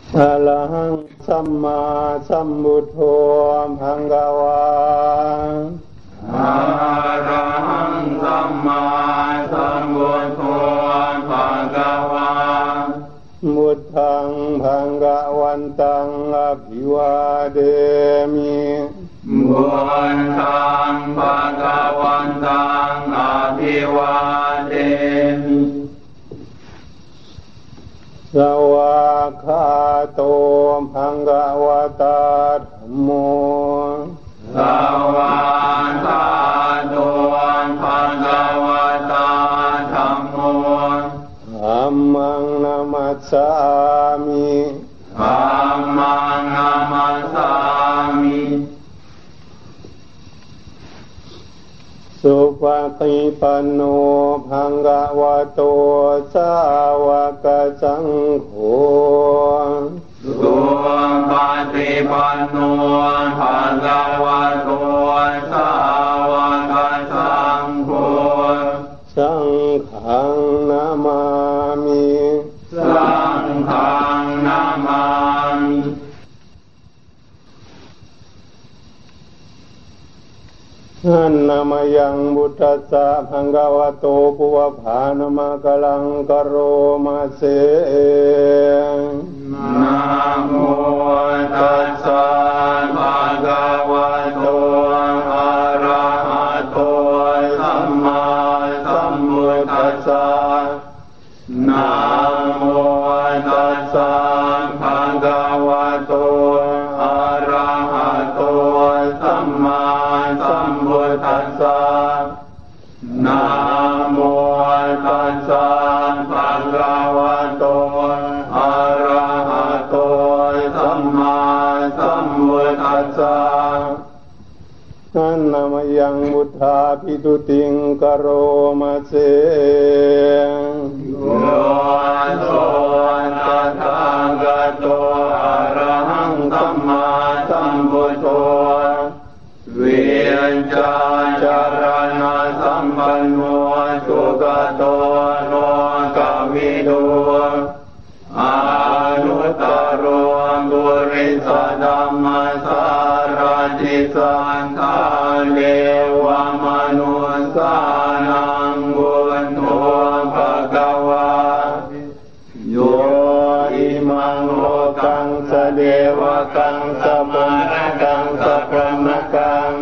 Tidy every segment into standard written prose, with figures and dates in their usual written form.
อะระหังสัมมาสัมพุทโธภะคะวาอะระหังสัมมาสัมพุทโธภะคะวาพุทธังภะคะวันตังอภิวาเทมิพุทธังภะคะวันตังอภิวาเทมิสวากขาโตภะคะวะตาธัมโมสวากขาโตภะคะวะตาธัมโมธัมมังนัมมัสสามิธัมมังนัมมัสสามิสุปฏิปันโนภะคะวะโตสาวกสังโฆสุปฏิปันโนภะคะวะโตสาวกสังโฆสังฆังนามามิสังฆังนามามิอันนามายังพุทธัสสะภะคะวะโตปุวภานามะกะลังกะโรมาเสนะโมตัสสะภะคะวะโตอะระหะโตสัมมาสัมพุทธัสสะนะโมตัสสะภะคะวะโตอะระหะโตสัมมาสัมพุทธัสสะนะโมตัสสะภะคะวะโตอะระหะโตสัมมาสัมพุทธัสสะอันนามายังพุทธาภิตุติงกะโรมาเสโยโสตถาคตโตอะระหังสัมมาสัมพุทโธวิญญาจารณะสัมปันโนสุขโตโลกวิทูอนุตตโรปุริสธัมมสารติสันธาเทวมนุสสานังบุญโธภคะวาโยอิมังโลกังสเดวกังสมณกังสพรหมกัง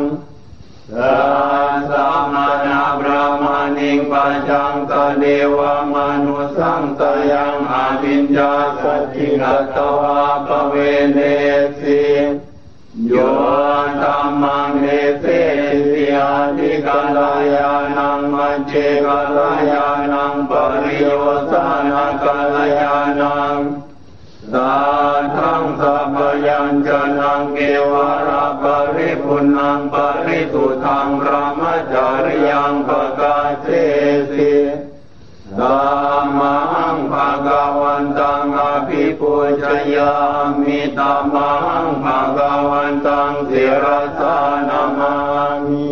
สัมมานาบรามณิงปัจจังสเดวมนุสังสยังอภิญญาสติกัตวาปเวเนสิโยธัมมังเนเสสิอาทิกัลยาณังมัจเจกัลยาณังปริโยสานะกัลยาณังสัทธังสัพพยัญชนะเกวะระปริปุณังปริสุทธังพระมจาริยังปกาเสสิธัมมังภะคะวันตังอภิปูชยามิธัมมังภะคะวันตังศิรสานามามิ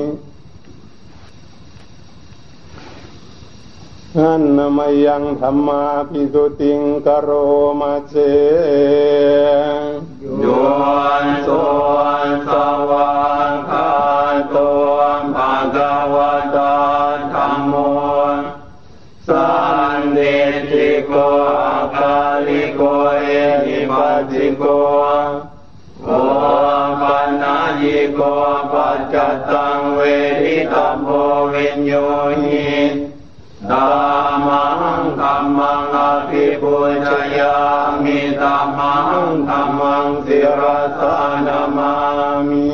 อันนามายังธัมมาภิตุติงกะโรมาเสโยโสสวากขาโตภะคะวะตาธัมโมสันติติโกอาคาลิโกเอหิปัสสิโกโอปัญญิโกปัจจตังเวทิตัมโพวิญโยหิธัมมังธัมมังอภิปูชยามิธัมมังธัมมังศิรสานามามิ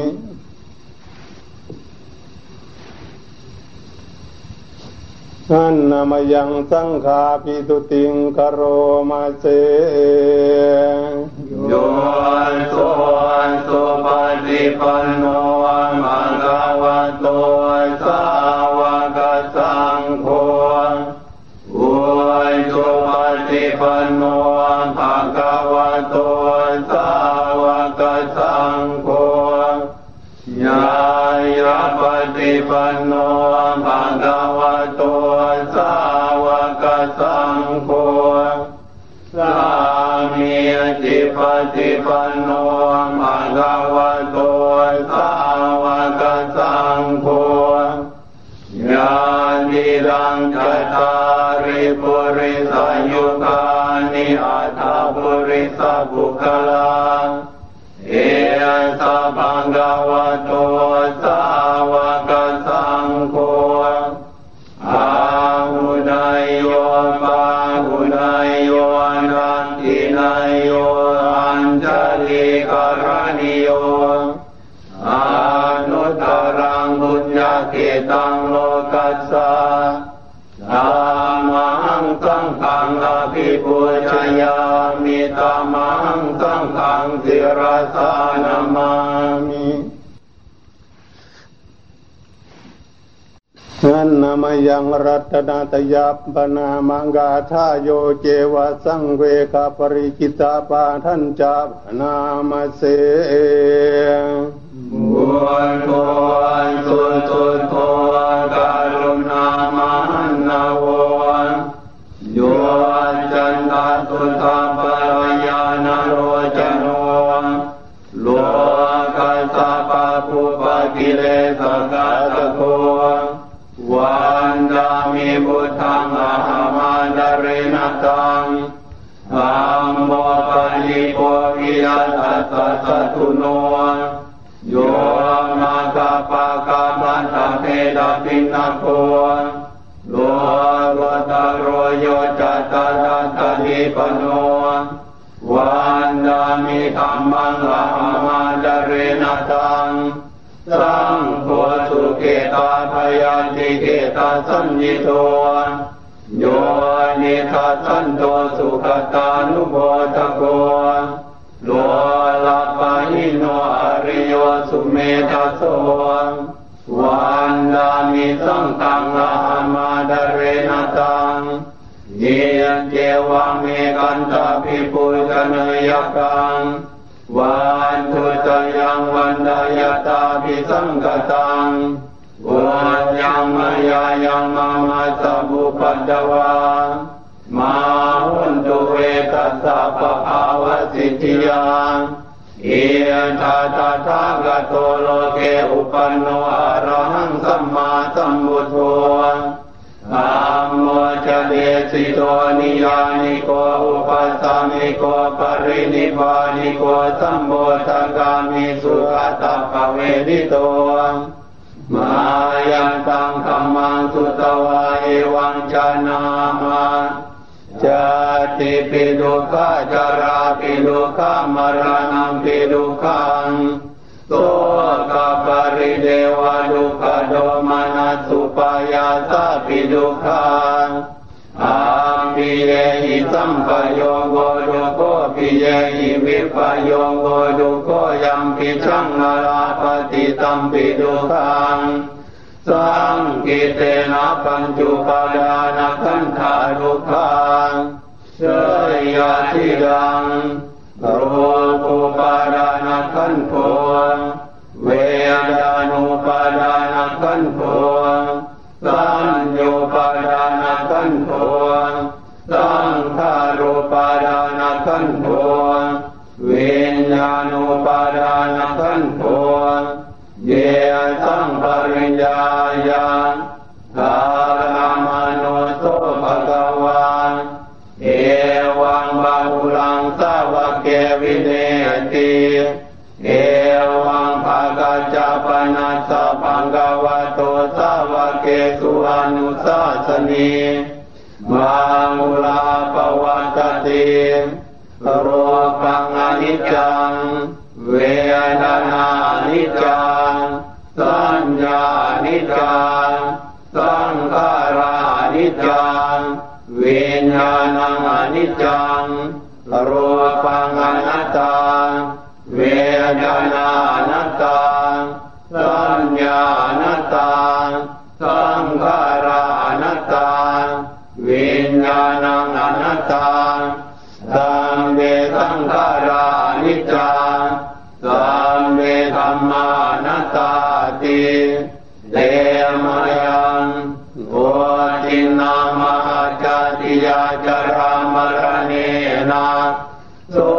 อันนามายังสังฆาภิตุติงกะโรมาเสโยโสสุปฏิปันโนภะคะวะโตสาวกสังโฆอุชุปฏิปันโนภะคะวะโตสาวกสังโฆญาญาปฏิปันโนภะคะวะโตสาวกสังโฆสามิจิปฏิปันโนภะคะวะโตสาวกสังโฆญาณิรังจัตตาริปุริสยุคานิอัตถปุริสบุคลาเอสะภะคะวะโตสาวกสังโฆอาหุนายโยปาหุนายโยนันทินายโยอัญชลิกรณิโยอนุตตรังบุญญาเกตังโลกัสสะธัมมังสังฆังอภิปูชยามิธัมมังสังฆังศิรสานามามินันนามยังรัตนาตยาปนามังกาทาโยเจวะสังเวกปริกิตาปาทันจาปนามเสบุญโกสุตุโตกรุณามหันนาวโยจันตตุธาปยานโรจโนโลกัสสะปะปุปกิเลสกาตโกวันดามิพุทธังอะหัมาดเรนะตังธัมโมปะลิโภวิยัสสะสัตุโนโยนาคาปะกาบันตะเทดะปินะโกโลกุตโรโยจัตตาตะทิปโนวันดามิธัมมังอะหัมาดเรนะตังสังโฆสุเกตาพยัญติเกตาสัญญิโตโยนิทัสสันโตสุขตานุโมทโกโลลัปปะหิโนอริโยสุเมธัสโสวันดามิสังฆังอะหัมาดเรนะตังเยเจวะเมกันตาภิปุชนยกังวันทุตยังวันดายตาภิสังกตังวันยังมายายังมามาสัพพุปัจจวามาหุนตุเวตัสสะปะภาวะสิทธิยาเอตตถาคโตโลเกอุปันโนอะระหังสัมมาสัมพุทโธธัมโมจะเดสิโตนิยานิโกอุปัสสามิโกปรินิพพานิโกสัมโพธกามิสุขตปะเวทิโตมายันตังธัมมังสุตวะเอวังชนามาจาติปิดุขะจาราปิดุขะมรณังปิดุขังโสกปริเดวะดุขะโดมานัสสุปายาสะปิดุขังอาปิเยหิสัมปโยโกดุโกปิเยหิวิปโยโกดุโกยัมปิชังนาราปฏิตัมปิดุขังสังกิเตนะปัญจุปาดานะขันธาทุกขังเสยทิดังโรกุปาดานะขันโธเวดานุปาดานะขันโธสัญโยปาดานะขันโธสังขารุปาดานะขันโธวิญญาณุปาดานะขันโธเยสังปริญญาญาณกาลามโนโสภะคะวาเอวังบาหุลังสาวะเกวิเนติเอวังภะกัจจปนัสสะภังคะวะโตสาวะเกสุอนุสาสนีมาหุลาปวัตติโรกังอนิจจังเวทนานิจจังสัญญานิจจังสังขารานิจจังวิญญาณังอนิจจังรูปังอนัตตาเวทนาอนัตตาสัญญาอนัตตาสังขาราอนัตตาวิญญาณังอนัตตาสัมเวสังขารานิจจังสัมเวธัมมานัตตาติเตมยังโอทินามหาจติยาจารามรเนนะโส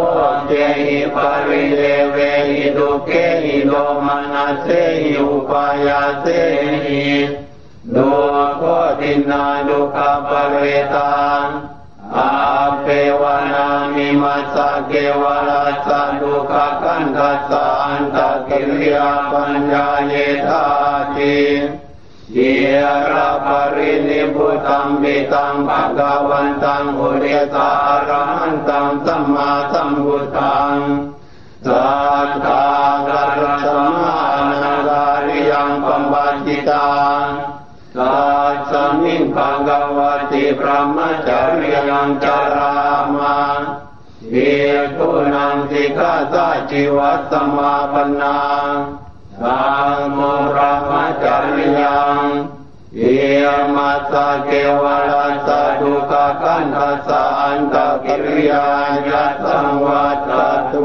เจหิปริเดเวหิดุเกหิโดมนัสเสหิอุปายาเสหิดุโคตินาดุขปเรตังอาเปวานามิมัสสะเกวรัสสะดุขกันทัสสะอันตกิริยาปัญญาเยธาติเยระปรินิพพุตัมปิตังภะคะวันตังอุเรสาอรหันตังสัมมาสัมพุทธังสัทธากัสสะมานาการิยังปัมปัจจิตังสัจสมิงภะคะวติพระมจริยังจารามาเอกุนังสิกขาสัจจิวัตสมาปนังสังโฆพระมจริยังเอมัสสะเกวรัสสะดุขกันทัสสะอันตกิริยายัสสังวัตตุ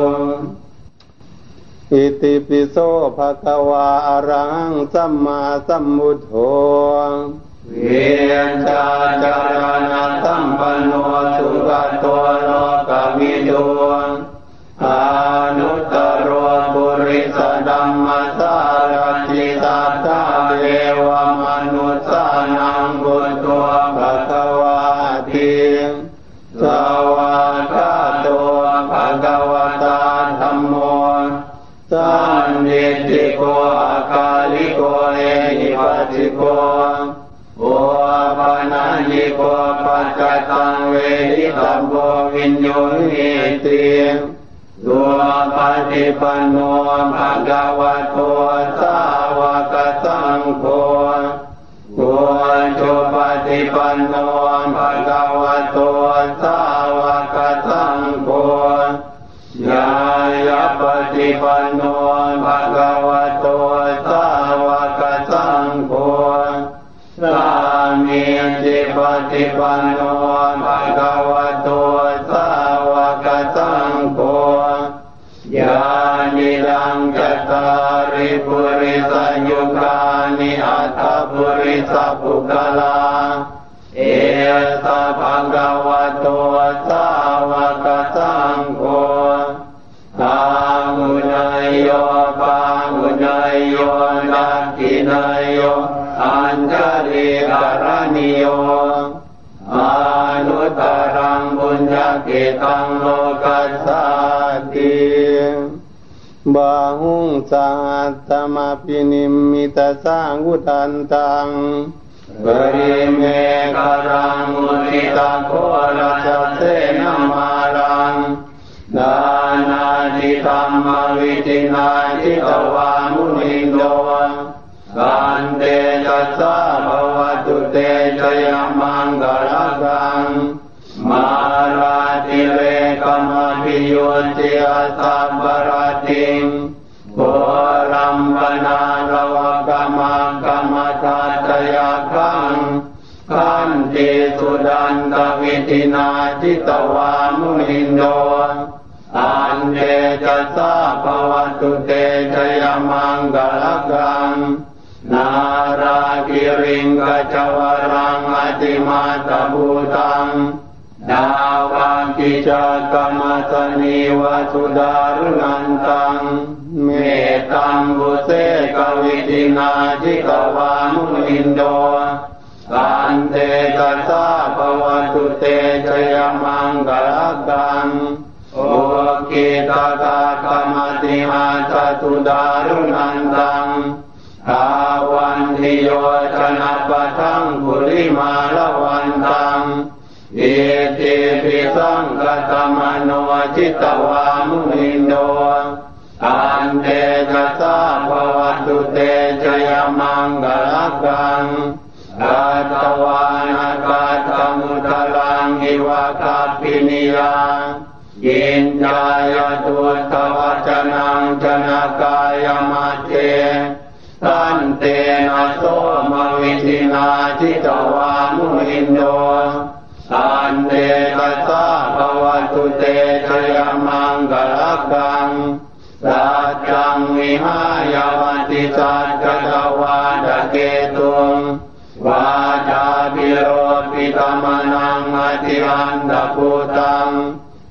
อิติปิโสภะคะวาอะระหังสัมมาสัมพุทโธเวนชาจารณะสัมปันโนสุขโตโลกวิทูอนุตตรปุริสธัมมัสสารติสัทธาเทวมนุสสานังพุทโธภะคะวาติสวากขาโตภะคะวตาธัมโมสันนิติโกอาคาลิโกเอหิปัสสิโกโอปานายิโกปัจจตังเวหิตัมโพวิญโยหิติสุปฏิปันโนภะคะวะโตสาวกสังโฆโกจุปฏิปันโนภะคะวะโตสาวกสังโฆญาญาปฏิปันโนภะคะวะโตสาวกสังโฆสามีจิปฏิปันโนภะคะวะโตสาวกสังโฆญาณิรังจัตตาริปุริสยุคานิอัตถปุริสปุคลาเอสะภะคะวะโตสาวกสังโฆทามุนัยโยปามุนัยโยนักขินัยโยอัญชลิกรณิโยอนุตตรังบุญญกิตังโลกัสสติบาหุงสัตตมาปินิมมิตสังวุตันตังปริเมฆรังมุนิตาโครัสเสนามารังนานาจิตัมมวิจินาจิตวามุนิโดกันเตจัสสะภวตุเตชยมังกลกังมาราติเวกมพิโยติอาสัมปราติงโกรัมปนาลวกมังกมทัตยาคังขันติสุดันตวิตินาจิตวามุนิโดอันเตจัสสะภวตุเตชยมังกลกังนาราคิริงกัจวรังอติมาตบูตังดาวังกิจักมัสนิวสุดารุนันตังเมตังบุเสกวิตินาจิกวามุนินโดกันเตจัสสะภวตุเตชยมังกลกังโอกิตตากมติมาจตุดารุนันตังอาวันทิโยชนะปะทังกุลิมาลวันตังเอติปิสังกตมโนจิตวามุนิโดอันเตจัสสะภวตุเตชยมังกลกังกัตตวานากัตตมุตลังหิวะคัปปินิยังยินจายตุตวัจนังจนะกายมัจเจตันเตนะโสมวิธินาจิตวามุนิโดอันเตตัสสะภวตุเตชยมังกลกังสัจจังวิหายวัติสัจจตวาดเกตุงวาจาปิโรปิตมนังอธิอันตพุตังป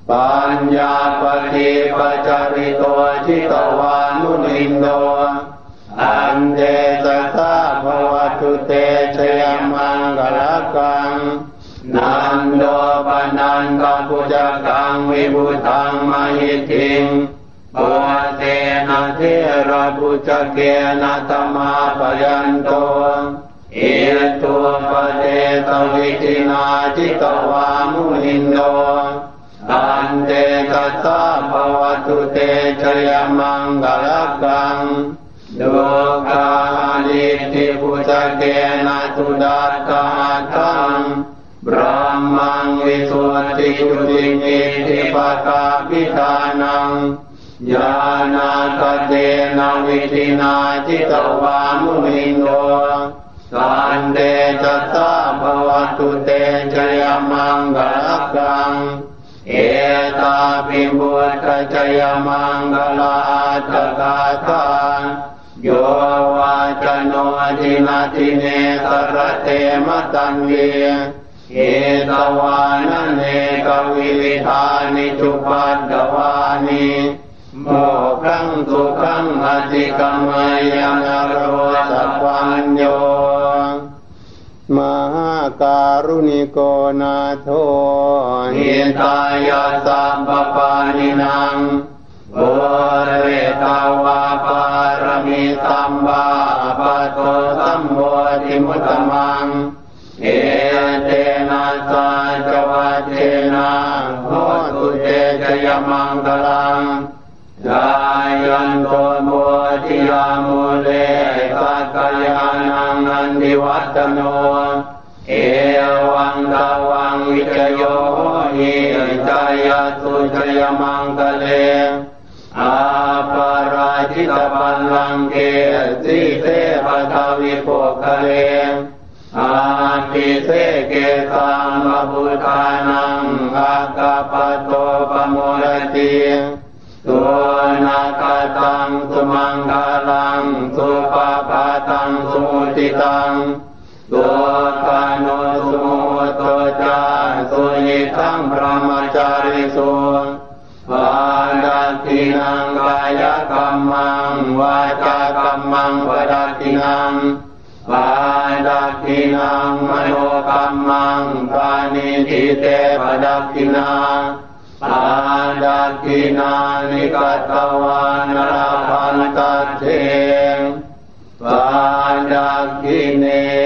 ปัญญาปฏิปัจจาริโตจิตวานุนินโนอันเตสัสสะภวตุเตชยมังกลกังนันโดปนันตปุจกังวิบุตังมหิทิงปุเตนะเทระปุจเกนะธรรมาปยันโตเอตุปเตตวิทินาจิตวามุนินโนอันเตตัสสะภวตุเตชยมังกลกังโลกาลิทิปุจเกนะตุดัตตาตังบรมังวิสุทธิจุติมิทิปตาปิทานังญาณาคเตนะวิทินาจิตวามุนิโนสันเตจัสสะภวตุเตชยมังกลกังเอตาปิบุตตชยมังกลาตกาตาโยวาจโนทินาทิเนสรเตมตันเวเอตวานเนกวิวิธานิจุปัฏฐวานิโมขังสุขังอธิกรรมยังโรสัพพัญโยมหาการุณิโกนาโถหิตายาสัมปปานินังโอเรตาวาปารมิสัมบาปะโตสัมโพธิมุตตมังเอเตนะสาจวัตเตนะโหตุเตชยมังคลังจายันโตโมทิยามุเลสักยานังนันทิวัตโนเอวังตาวังวิจโยหิจายสุชยมังคเลอาปาราชิตปัลลังเกสิเสปทาวิโภคเลอาทิเสเกตังบะพุทธานังอากาปโตปโมรติตัวนาคตังสุมังคลังสุปปาตังสุมุติตังตัวกาโนสุโมโตจาสุยิทังพระมจาริสุปาดัตถินังกายกรรมังวาจากรรมังวดัตถินังปาดัตถินังมโนกรรมังปานิทิเตปดัตถินาปาดัตถินานิกัตตวานราพันตัตเถปาดัตถิเน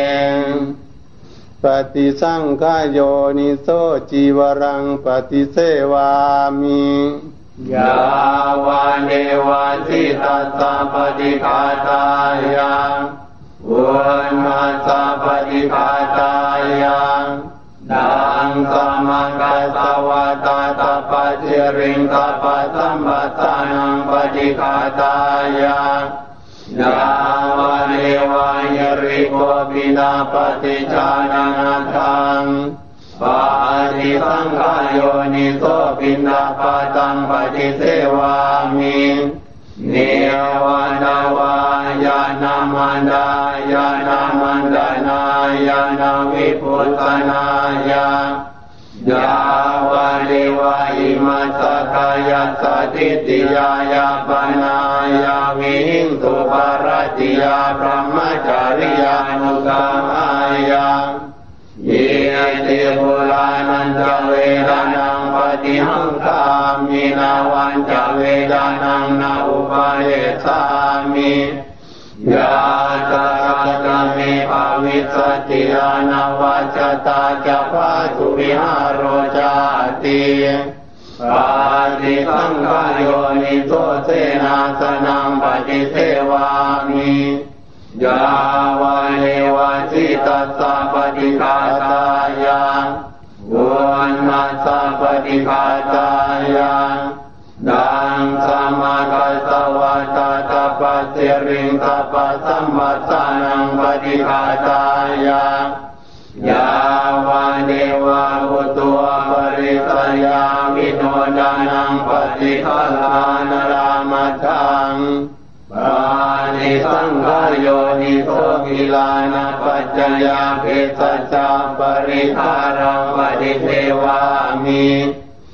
ปฏิสังขโยนิโสจีวรังปฏิเสวามิยาวาเนวาสิตัสสะปฏิฆาตายาอุณมาสะปฏิฆาตายาดังสมังกัสสวะตาตาปัจเจริงกัปปะสัมปัสสานังปฏิฆาตายายาวาเนวายริโกปินาปฏิจานาทังปาฏิสังขโยนิโสปินาปะตังปฏิเสวามิเนวานาวายานามันดายานามันดานายานาวิปุตตนายายาวาเดวาอิมัสสะกายสัตติติยายาปนายาวิหิงสุภารติยาพรหมจาริยานุกามายาเยติปุรานันจะเวดานังปฏิหังคามินาวันจะเวดานังนาอุปาเยสามิยาตากะเมภาวิสติยานาวัจตาจะพาสุวิหารโรจาติปาฏิสังขโยนิโสเสนาสนังปฏิเสวามิยาวาเนวาสิตัสสะปฏิฆาตายาอุณมาสะปฏิฆาตายาดังสมากัสสวะตาตาปัสเสริงกัปปะสัมปัสสานังปฏิฆาตายายาวาเนวาอุตุปริสยามิโนดานังปฏิฆาลานรามทังปานิสังขโยนิโสกิลานะปัจจยาเพสัจจาปริหารังปฏิเสวามิ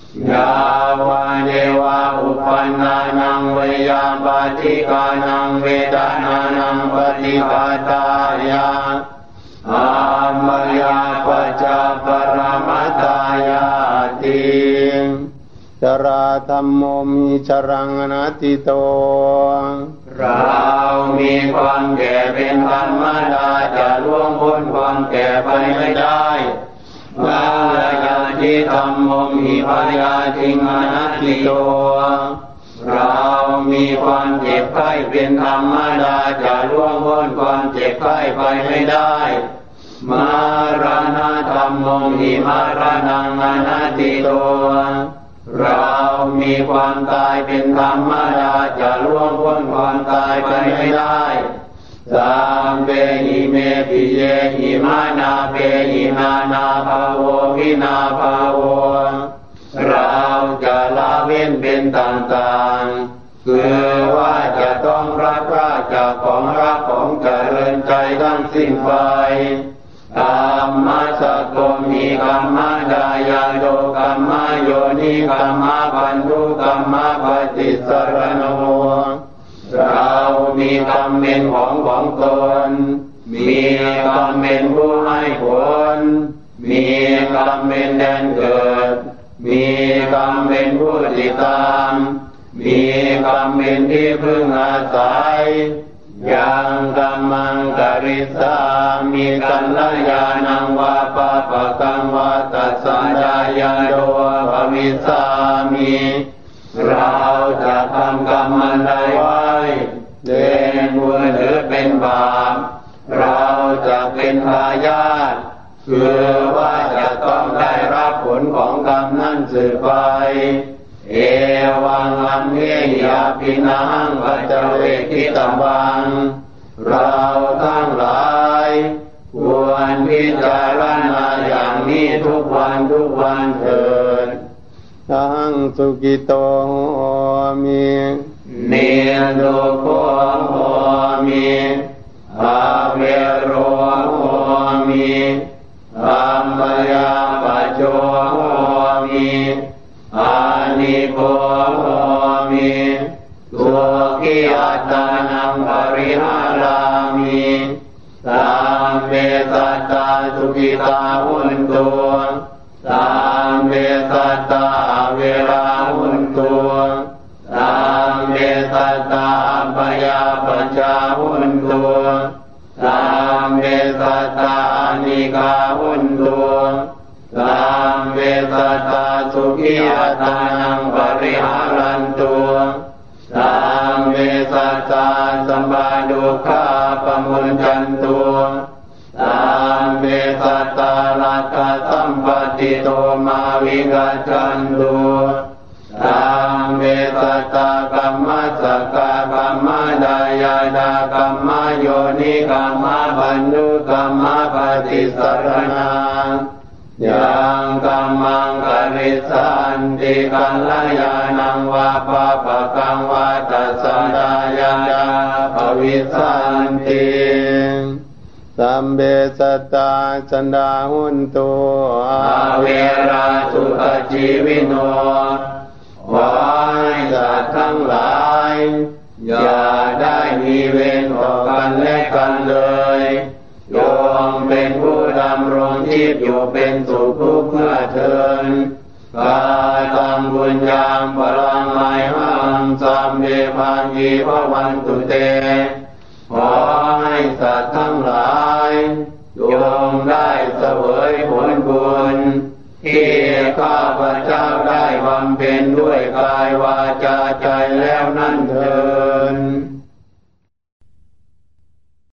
ยาวาเดวะอุปันนานังเวยาปฏิกานังเวทนานังปฏิปทายาอามยาปัจจปรมัตตายาติจราธัมโมมิจรังอนัตติโตเรามีความแก่เป็นธรรมดาจะล่วงพ้นความแก่ไปไม่ได้กาลยาติธัมโมมิพยาธิอนัตติโตเรามีความเจ็บไข้เป็นธรรมดาจะล่วงพ้นความเจ็บไข้ไปไม่ได้มรณะธัมโมมิมรณังอนัตติโตเรามีความตายเป็นธรรมดาจะล่วงพ้นความตายไปไม่ได้สัมเปหิเมปิเยหิมานาเปหินานาภาโววินาภาโวเราจะละเว้นเป็นต่างๆคือว่าจะต้องรับราชจากของรักของเจริญใจทั้งสิ้นไปกรรมสะโกมิกรรมดายาโดกรรมโยนิกรรมปันธุกรรมปฏิสรโนเรามีกรรมเป็นของตนมีกรรมเป็นผู้ให้ผลมีกรรมเป็นแดนเกิดมีกรรมเป็นผู้ติดตามมีกรรมเป็นที่พึ่งอาศัยยังกัมมังกริสามิกัลยาณังวาปะปะกังวาตัสสะดายาโดภวิสามิเราจะทำกรรมอันใดไว้เป็นบุญหรือเป็นบาปเราจะเป็นทายาทคือว่าจะต้องได้รับผลของกรรมนั้นสืบไปเอวังอัมเฮียปินังปัจเจเวคิตวังเราทั้งหลายควรพิจารณาอย่างนี้ทุกวันเถิดทังสุกิโตมิเนโดโคโหมิอาเวโรโหมิอัมมยาปัจโจโหมิอานิโกโหมิทุกิอัตตานังปริหารามิสัมเมสัตตาสุขิตาหุนตุสัมเมสัตตาเวราหุนตุสัมเมสัตตาปยาปัจจาหุนตุสัมเมสัตตานิกาหุนตุสัมเมสัตตาสุขิอัตตานังปริหารันตุสัมเมสัตตาสัมปาดุขาปมุญจันตุสัมเมสัตตาลักขสัมปติโตมาวิกัจจันตุสัมเมสัตตากัมมัสสะกะกัมมดายาดากัมมโยนิกัมมปันธุกัมมปฏิสรณายังกัมมังกริสันติกัลยาณังวาปะปะกังวาตัสสะดายาดาภวิสันติสัมเบสัตตาสันดาหุนตุอาเวราสุขชีวิโนขอให้สัตว์ทั้งหลายอย่าได้มีเวรต่อกันและกันเลยโยมเป็นผู้ดำรงชีพอยู่เป็นสุขทุกข์เมื่อเทินกาตังบุญญามปรังไมหังสัมเมพังยีภวันตุเตขอให้สัตว์ทั้งหลายโยมได้เสวยผลบุญที่ข้าพเจ้าได้บำเพ็ญด้วยกายวาจาใจแล้วนั่นเถิ